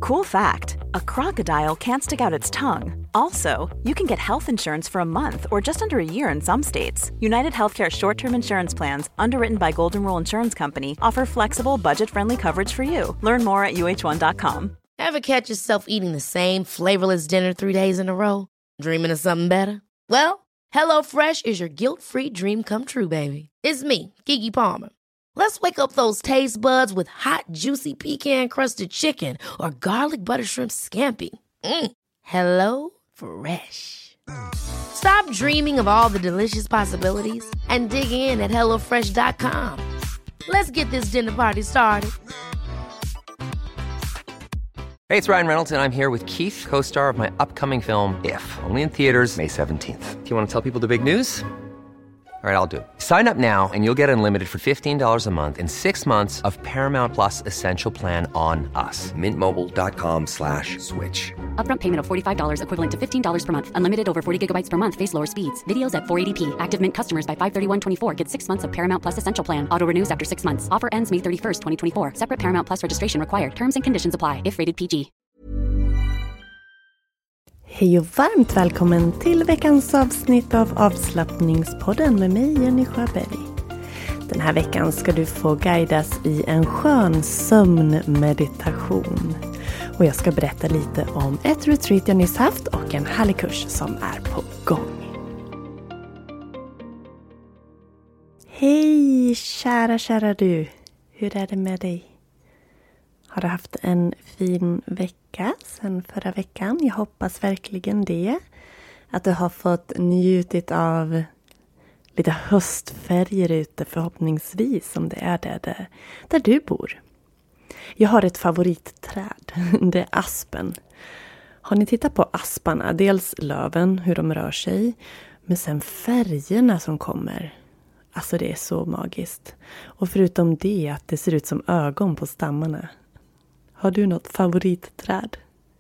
Cool fact, a crocodile can't stick out its tongue. Also, you can get health insurance for a month or just under a year in some states. United Healthcare short-term insurance plans, underwritten by Golden Rule Insurance Company, offer flexible, budget-friendly coverage for you. Learn more at uh1.com. Ever catch yourself eating the same flavorless dinner 3 days in a row? Dreaming of something better? Well, HelloFresh is your guilt-free dream come true, baby. It's me, Keke Palmer. Let's wake up those taste buds with hot, juicy pecan-crusted chicken or garlic butter shrimp scampi. Hello Fresh. Stop dreaming of all the delicious possibilities and dig in at HelloFresh.com. Let's get this dinner party started. Hey, it's Ryan Reynolds, and I'm here with Keith, co-star of my upcoming film, If, only in theaters May 17th. Do you want to tell people the big news? All right, I'll do it. Sign up now and you'll get unlimited for $15 a month and 6 months of Paramount Plus Essential Plan on us. Mintmobile.com/switch. Upfront payment of $45 equivalent to $15 per month. Unlimited over 40 gigabytes per month. Face lower speeds. Videos at 480p. Active Mint customers by 531.24 get 6 months of Paramount Plus Essential Plan. Auto renews after 6 months. Offer ends May 31st, 2024. Separate Paramount Plus registration required. Terms and conditions apply if rated PG. Hej och varmt välkommen till veckans avsnitt av Avslappningspodden med mig, Jenny Sjöberg. Den här veckan ska du få guidas i en skön sömnmeditation. Och jag ska berätta lite om ett retreat jag nyss haft och en härlig kurs som är på gång. Hej kära du! Hur är det med dig? Har du haft en fin vecka sedan förra veckan? Jag hoppas verkligen det. Att du har fått njutit av lite höstfärger ute förhoppningsvis, om det är där du bor. Jag har ett favoritträd. Det är aspen. Har ni tittat på asparna? Dels löven, hur de rör sig. Men sen färgerna som kommer. Alltså det är så magiskt. Och förutom det att det ser ut som ögon på stammarna. Har du något favoritträd?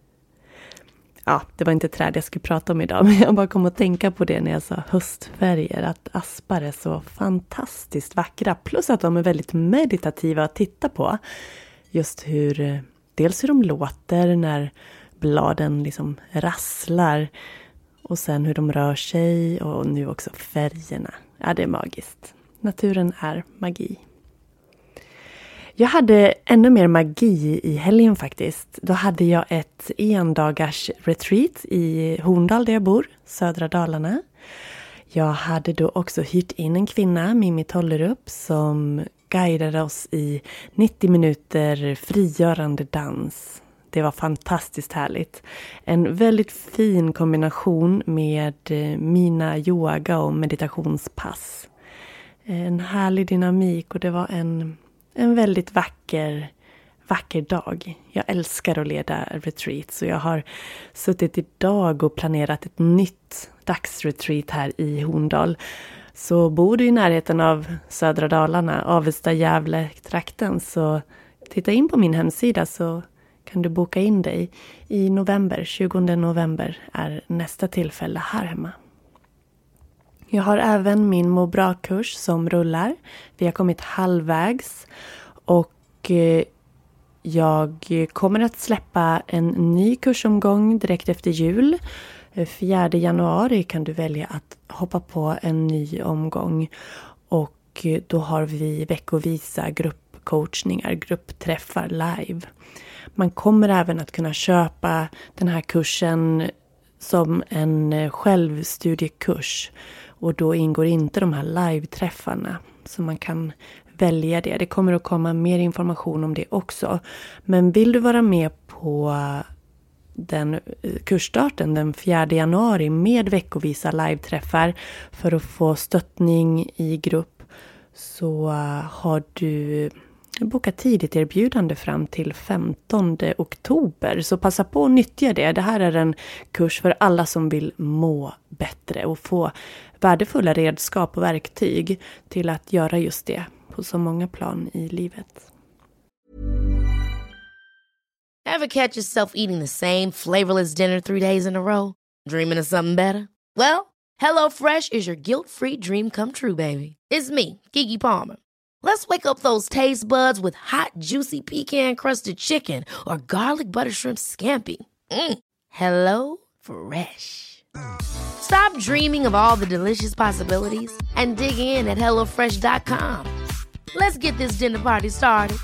Ja, det var inte träd jag skulle prata om idag. Men jag bara kom att tänka på det när jag sa höstfärger. Att aspar är så fantastiskt vackra. Plus att de är väldigt meditativa att titta på. Just dels hur de låter när bladen liksom rasslar. Och sen hur de rör sig. Och nu också färgerna. Ja, det är magiskt. Naturen är magi. Jag hade ännu mer magi i helgen faktiskt. Då hade jag ett endagars retreat i Horndal där jag bor, södra Dalarna. Jag hade då också hyrt in en kvinna, Mimmi Tollerup, som guidade oss i 90 minuter frigörande dans. Det var fantastiskt härligt. En väldigt fin kombination med mina yoga- och meditationspass. En härlig dynamik och det var en väldigt vacker dag. Jag älskar att leda retreat, så jag har suttit idag och planerat ett nytt dagsretreat här i Horndal. Så bor du i närheten av södra Dalarna, Avesta, Gävle, trakten, så titta in på min hemsida så kan du boka in dig i november. 20 november är nästa tillfälle här hemma. Jag har även min må bra-kurs som rullar. Vi har kommit halvvägs och jag kommer att släppa en ny kursomgång direkt efter jul. 4 januari kan du välja att hoppa på en ny omgång och då har vi veckovisa gruppcoachningar, gruppträffar live. Man kommer även att kunna köpa den här kursen som en självstudiekurs. Och då ingår inte de här live-träffarna. Så man kan välja det. Det kommer att komma mer information om det också. Men vill du vara med på den kursstarten den 4 januari med veckovisa live-träffar för att få stöttning i grupp, så har du bokat tidigt erbjudande fram till 15 oktober. Så passa på att nyttja det. Det här är en kurs för alla som vill må bättre och få värdefulla redskap och verktyg till att göra just det på så många plan i livet. Ever catch yourself eating the same flavorless dinner 3 days in a row? Dreaming of something better? Well, HelloFresh is your guilt-free dream come true, baby. It's me, Keke Palmer. Let's wake up those taste buds with hot, juicy pecan-crusted chicken or garlic butter shrimp scampi. Hello Fresh. Stop dreaming of all the delicious possibilities and dig in at HelloFresh.com. Let's get this dinner party started.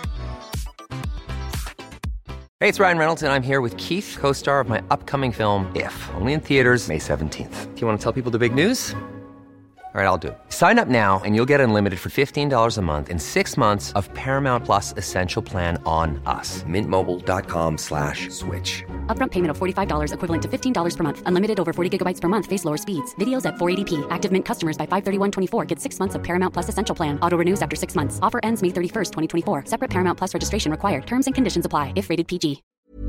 Hey, it's Ryan Reynolds, and I'm here with Keith, co-star of my upcoming film, If, only in theaters May 17th. Do you want to tell people the big news? All right, I'll do it. Sign up now and you'll get unlimited for $15 a month and 6 months of Paramount Plus Essential Plan on us. MintMobile.com/switch. Upfront payment of $45 equivalent to $15 per month. Unlimited over 40 gigabytes per month. Face lower speeds. Videos at 480p. Active Mint customers by 531.24 get 6 months of Paramount Plus Essential Plan. Auto renews after 6 months. Offer ends May 31st, 2024. Separate Paramount Plus registration required. Terms and conditions apply if rated PG.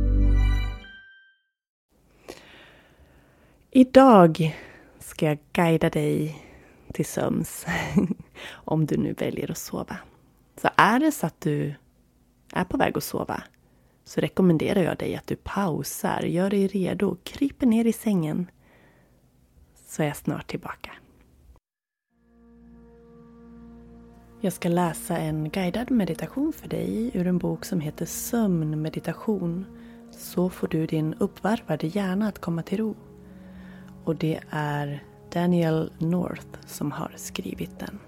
Idag ska jag guida dig till sömns. Om du nu väljer att sova. Så är det så att du är på väg att sova, så rekommenderar jag dig att du pausar, gör dig redo, kryper ner i sängen. Så är jag snart tillbaka. Jag ska läsa en guidad meditation för dig ur en bok som heter Sömnmeditation. Så får du din uppvarvade hjärna att komma till ro. Och det är Daniel North som har skrivit den.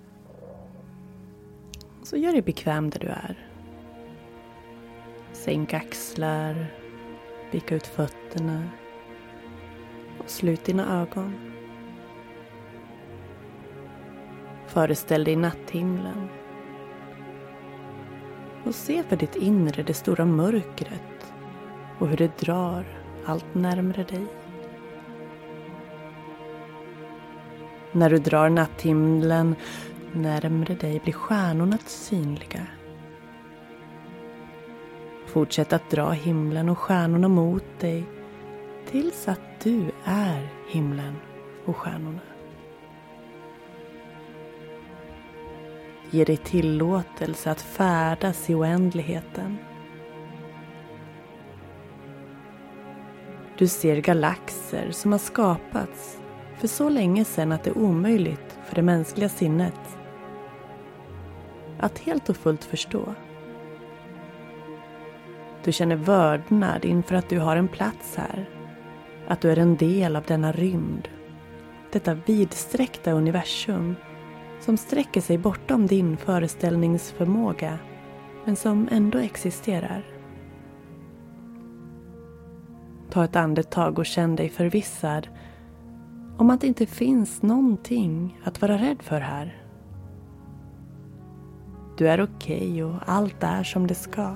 Så gör dig bekväm där du är. Sänk axlar, vika ut fötterna och slut dina ögon. Föreställ dig natthimlen och se för ditt inre det stora mörkret och hur det drar allt närmare dig. När du drar natthimlen närmare dig blir stjärnorna synliga. Fortsätt att dra himlen och stjärnorna mot dig tills att du är himlen och stjärnorna. Ge dig tillåtelse att färdas i oändligheten. Du ser galaxer som har skapats för så länge sedan att det är omöjligt för det mänskliga sinnet att helt och fullt förstå. Du känner vördnad inför att du har en plats här. Att du är en del av denna rymd. Detta vidsträckta universum som sträcker sig bortom din föreställningsförmåga men som ändå existerar. Ta ett andetag och känn dig förvissad om att det inte finns någonting att vara rädd för här. Du är okej och allt är som det ska.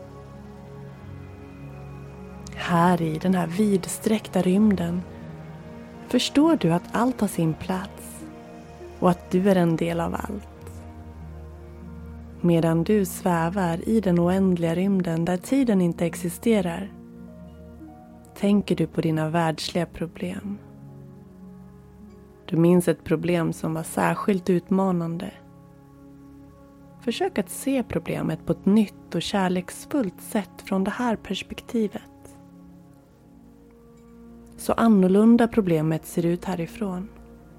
Här i den här vidsträckta rymden förstår du att allt har sin plats och att du är en del av allt. Medan du svävar i den oändliga rymden där tiden inte existerar, tänker du på dina världsliga problem. Du minns ett problem som var särskilt utmanande. Försök att se problemet på ett nytt och kärleksfullt sätt från det här perspektivet. Så annorlunda problemet ser ut härifrån.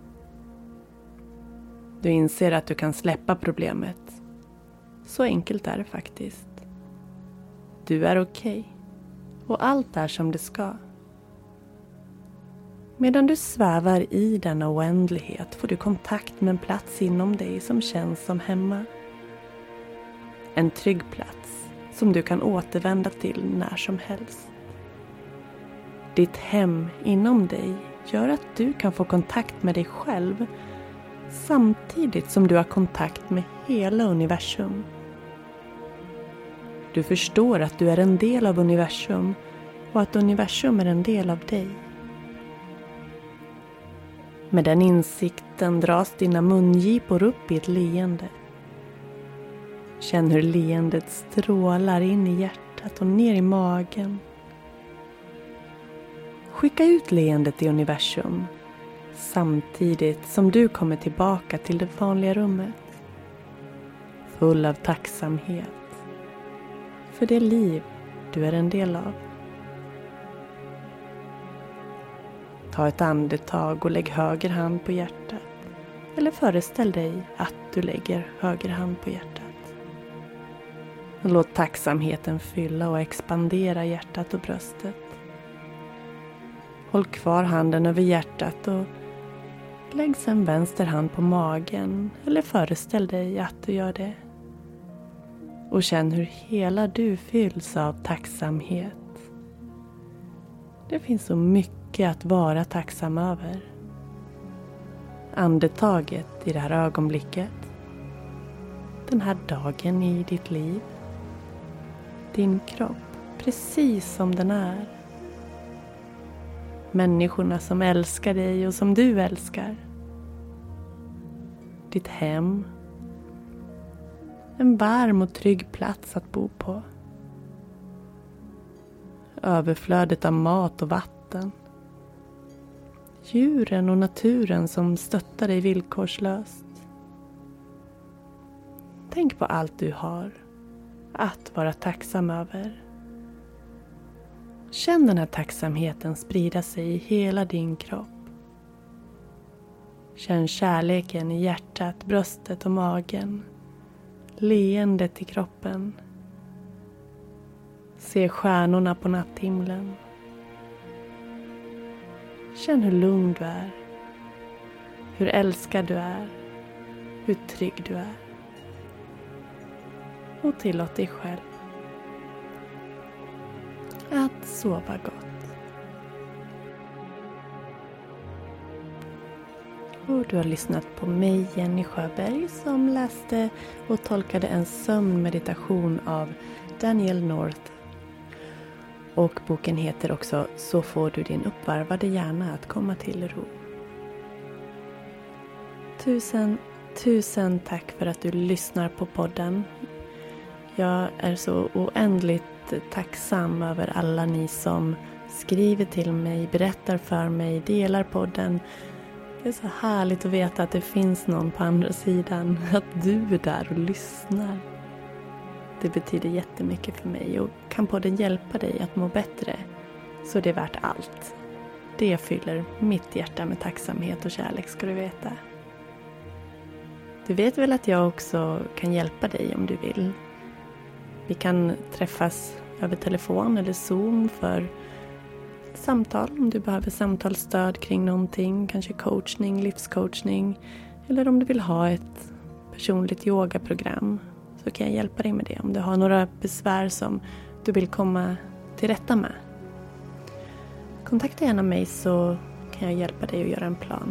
Du inser att du kan släppa problemet. Så enkelt är det faktiskt. Du är okej. Och allt är som det ska. Medan du svävar i denna oändlighet får du kontakt med en plats inom dig som känns som hemma. En trygg plats som du kan återvända till när som helst. Ditt hem inom dig gör att du kan få kontakt med dig själv samtidigt som du har kontakt med hela universum. Du förstår att du är en del av universum och att universum är en del av dig. Med den insikten dras dina mungipor upp i ett leende. Känn hur leendet strålar in i hjärtat och ner i magen. Skicka ut leendet i universum samtidigt som du kommer tillbaka till det vanliga rummet. Full av tacksamhet för det liv du är en del av. Ta ett andetag och lägg höger hand på hjärtat. Eller föreställ dig att du lägger höger hand på hjärtat. Och låt tacksamheten fylla och expandera hjärtat och bröstet. Håll kvar handen över hjärtat och lägg sen vänster hand på magen. Eller föreställ dig att du gör det. Och känn hur hela du fylls av tacksamhet. Det finns så mycket att vara tacksam över. Andetaget i det här ögonblicket. Den här dagen i ditt liv. Din kropp, precis som den är. Människorna som älskar dig och som du älskar. Ditt hem. En varm och trygg plats att bo på. Överflödet av mat och vatten. Djuren och naturen som stöttar dig villkorslöst. Tänk på allt du har att vara tacksam över. Känn den här tacksamheten sprida sig i hela din kropp. Känn kärleken i hjärtat, bröstet och magen. Leendet i kroppen. Se stjärnorna på natthimlen. Känn hur lugn du är. Hur älskad du är. Hur trygg du är. Och tillåt dig själv att sova gott. Och du har lyssnat på mig, Jenny Sjöberg, som läste och tolkade en sömnmeditation av Daniel North. Och boken heter också Så får du din uppvarvade hjärna att komma till ro. Tusen tack för att du lyssnar på podden. Jag är så oändligt tacksam över alla ni som skriver till mig, berättar för mig, delar podden. Det är så härligt att veta att det finns någon på andra sidan, att du är där och lyssnar. Det betyder jättemycket för mig, och kan podden hjälpa dig att må bättre så är det värt allt. Det fyller mitt hjärta med tacksamhet och kärlek, ska du veta. Du vet väl att jag också kan hjälpa dig om du vill. Vi kan träffas över telefon eller Zoom för samtal om du behöver samtalsstöd kring någonting. Kanske coachning, livscoachning. Eller om du vill ha ett personligt yogaprogram så kan jag hjälpa dig med det. Om du har några besvär som du vill komma till rätta med. Kontakta gärna mig så kan jag hjälpa dig att göra en plan.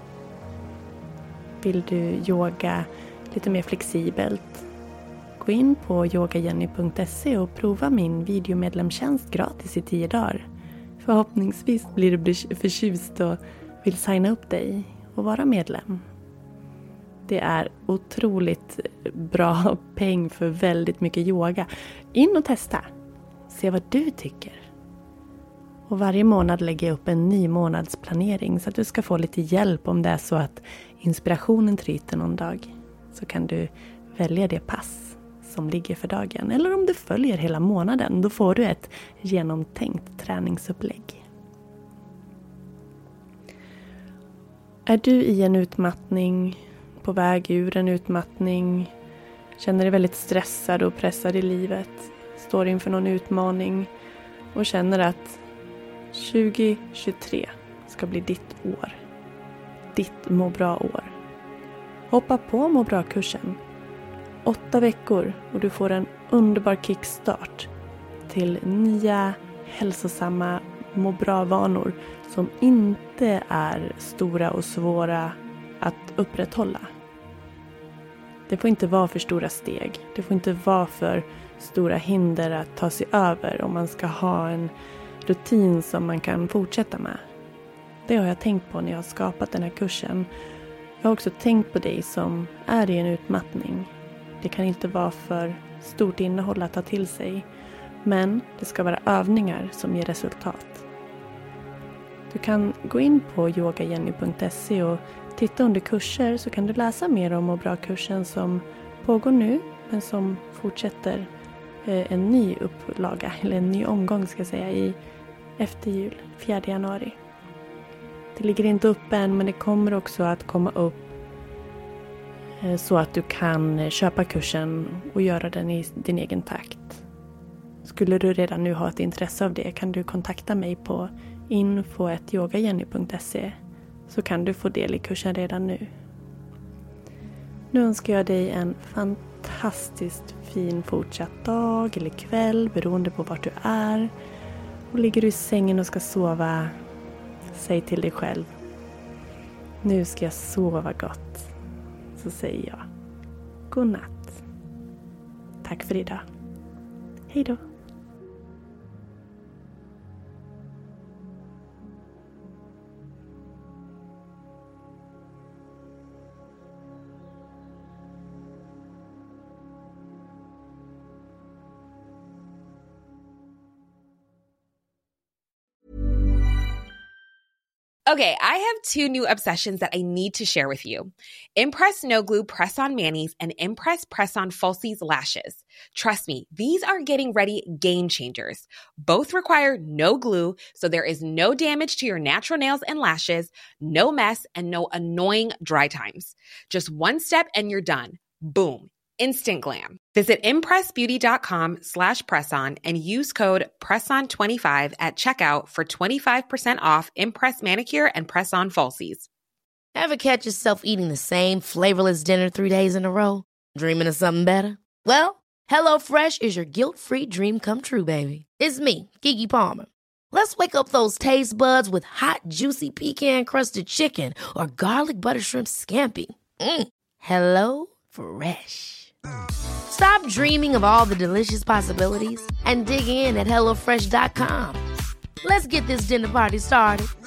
Vill du yoga lite mer flexibelt? Gå in på yogajenny.se och prova min videomedlemstjänst gratis i 10 dagar. Förhoppningsvis blir du förtjust och vill signa upp dig och vara medlem. Det är otroligt bra peng för väldigt mycket yoga. In och testa. Se vad du tycker. Och varje månad lägger jag upp en ny månadsplanering så att du ska få lite hjälp om det är så att inspirationen tryter någon dag. Så kan du välja det pass som ligger för dagen. Eller om du följer hela månaden, då får du ett genomtänkt träningsupplägg. Är du i en utmattning, på väg ur en utmattning, känner dig väldigt stressad och pressad i livet, står inför någon utmaning och känner att 2023 ska bli ditt år, ditt må bra år. Hoppa på må bra-kursen. 8 veckor och du får en underbar kickstart till nya hälsosamma må bra-vanor som inte är stora och svåra att upprätthålla. Det får inte vara för stora steg. Det får inte vara för stora hinder att ta sig över om man ska ha en rutin som man kan fortsätta med. Det har jag tänkt på när jag har skapat den här kursen. Jag har också tänkt på dig som är i en utmattning. Det kan inte vara för stort innehåll att ta till sig. Men det ska vara övningar som ger resultat. Du kan gå in på yogajenny.se och titta under kurser så kan du läsa mer om må bra-kursen som pågår nu. Men som fortsätter en ny upplaga, eller en ny omgång ska jag säga, efter jul, 4 januari. Det ligger inte upp än men det kommer också att komma upp Så att du kan köpa kursen och göra den i din egen takt. Skulle du redan nu ha ett intresse av det kan du kontakta mig på info@yogajenny.se så kan du få del i kursen redan nu. Nu önskar jag dig en fantastiskt fin fortsatt dag eller kväll beroende på vart du är. Och ligger du i sängen och ska sova, säg till dig själv: nu ska jag sova gott. Så säger jag: god natt. Tack för idag. Hej då. Okay, I have two new obsessions that I need to share with you. Impress No Glue Press-On Manis and Impress Press-On Falsies Lashes. Trust me, these are getting ready game changers. Both require no glue, so there is no damage to your natural nails and lashes, no mess, and no annoying dry times. Just one step and you're done. Boom. Instant glam. Visit impressbeauty.com/presson and use code PRESSON25 at checkout for 25% off Impress Manicure and Press-On Falsies. Ever catch yourself eating the same flavorless dinner 3 days in a row? Dreaming of something better? Well, HelloFresh is your guilt-free dream come true, baby. It's me, Keke Palmer. Let's wake up those taste buds with hot, juicy pecan-crusted chicken or garlic butter shrimp scampi. Hello Fresh. Stop dreaming of all the delicious possibilities and dig in at HelloFresh.com. Let's get this dinner party started.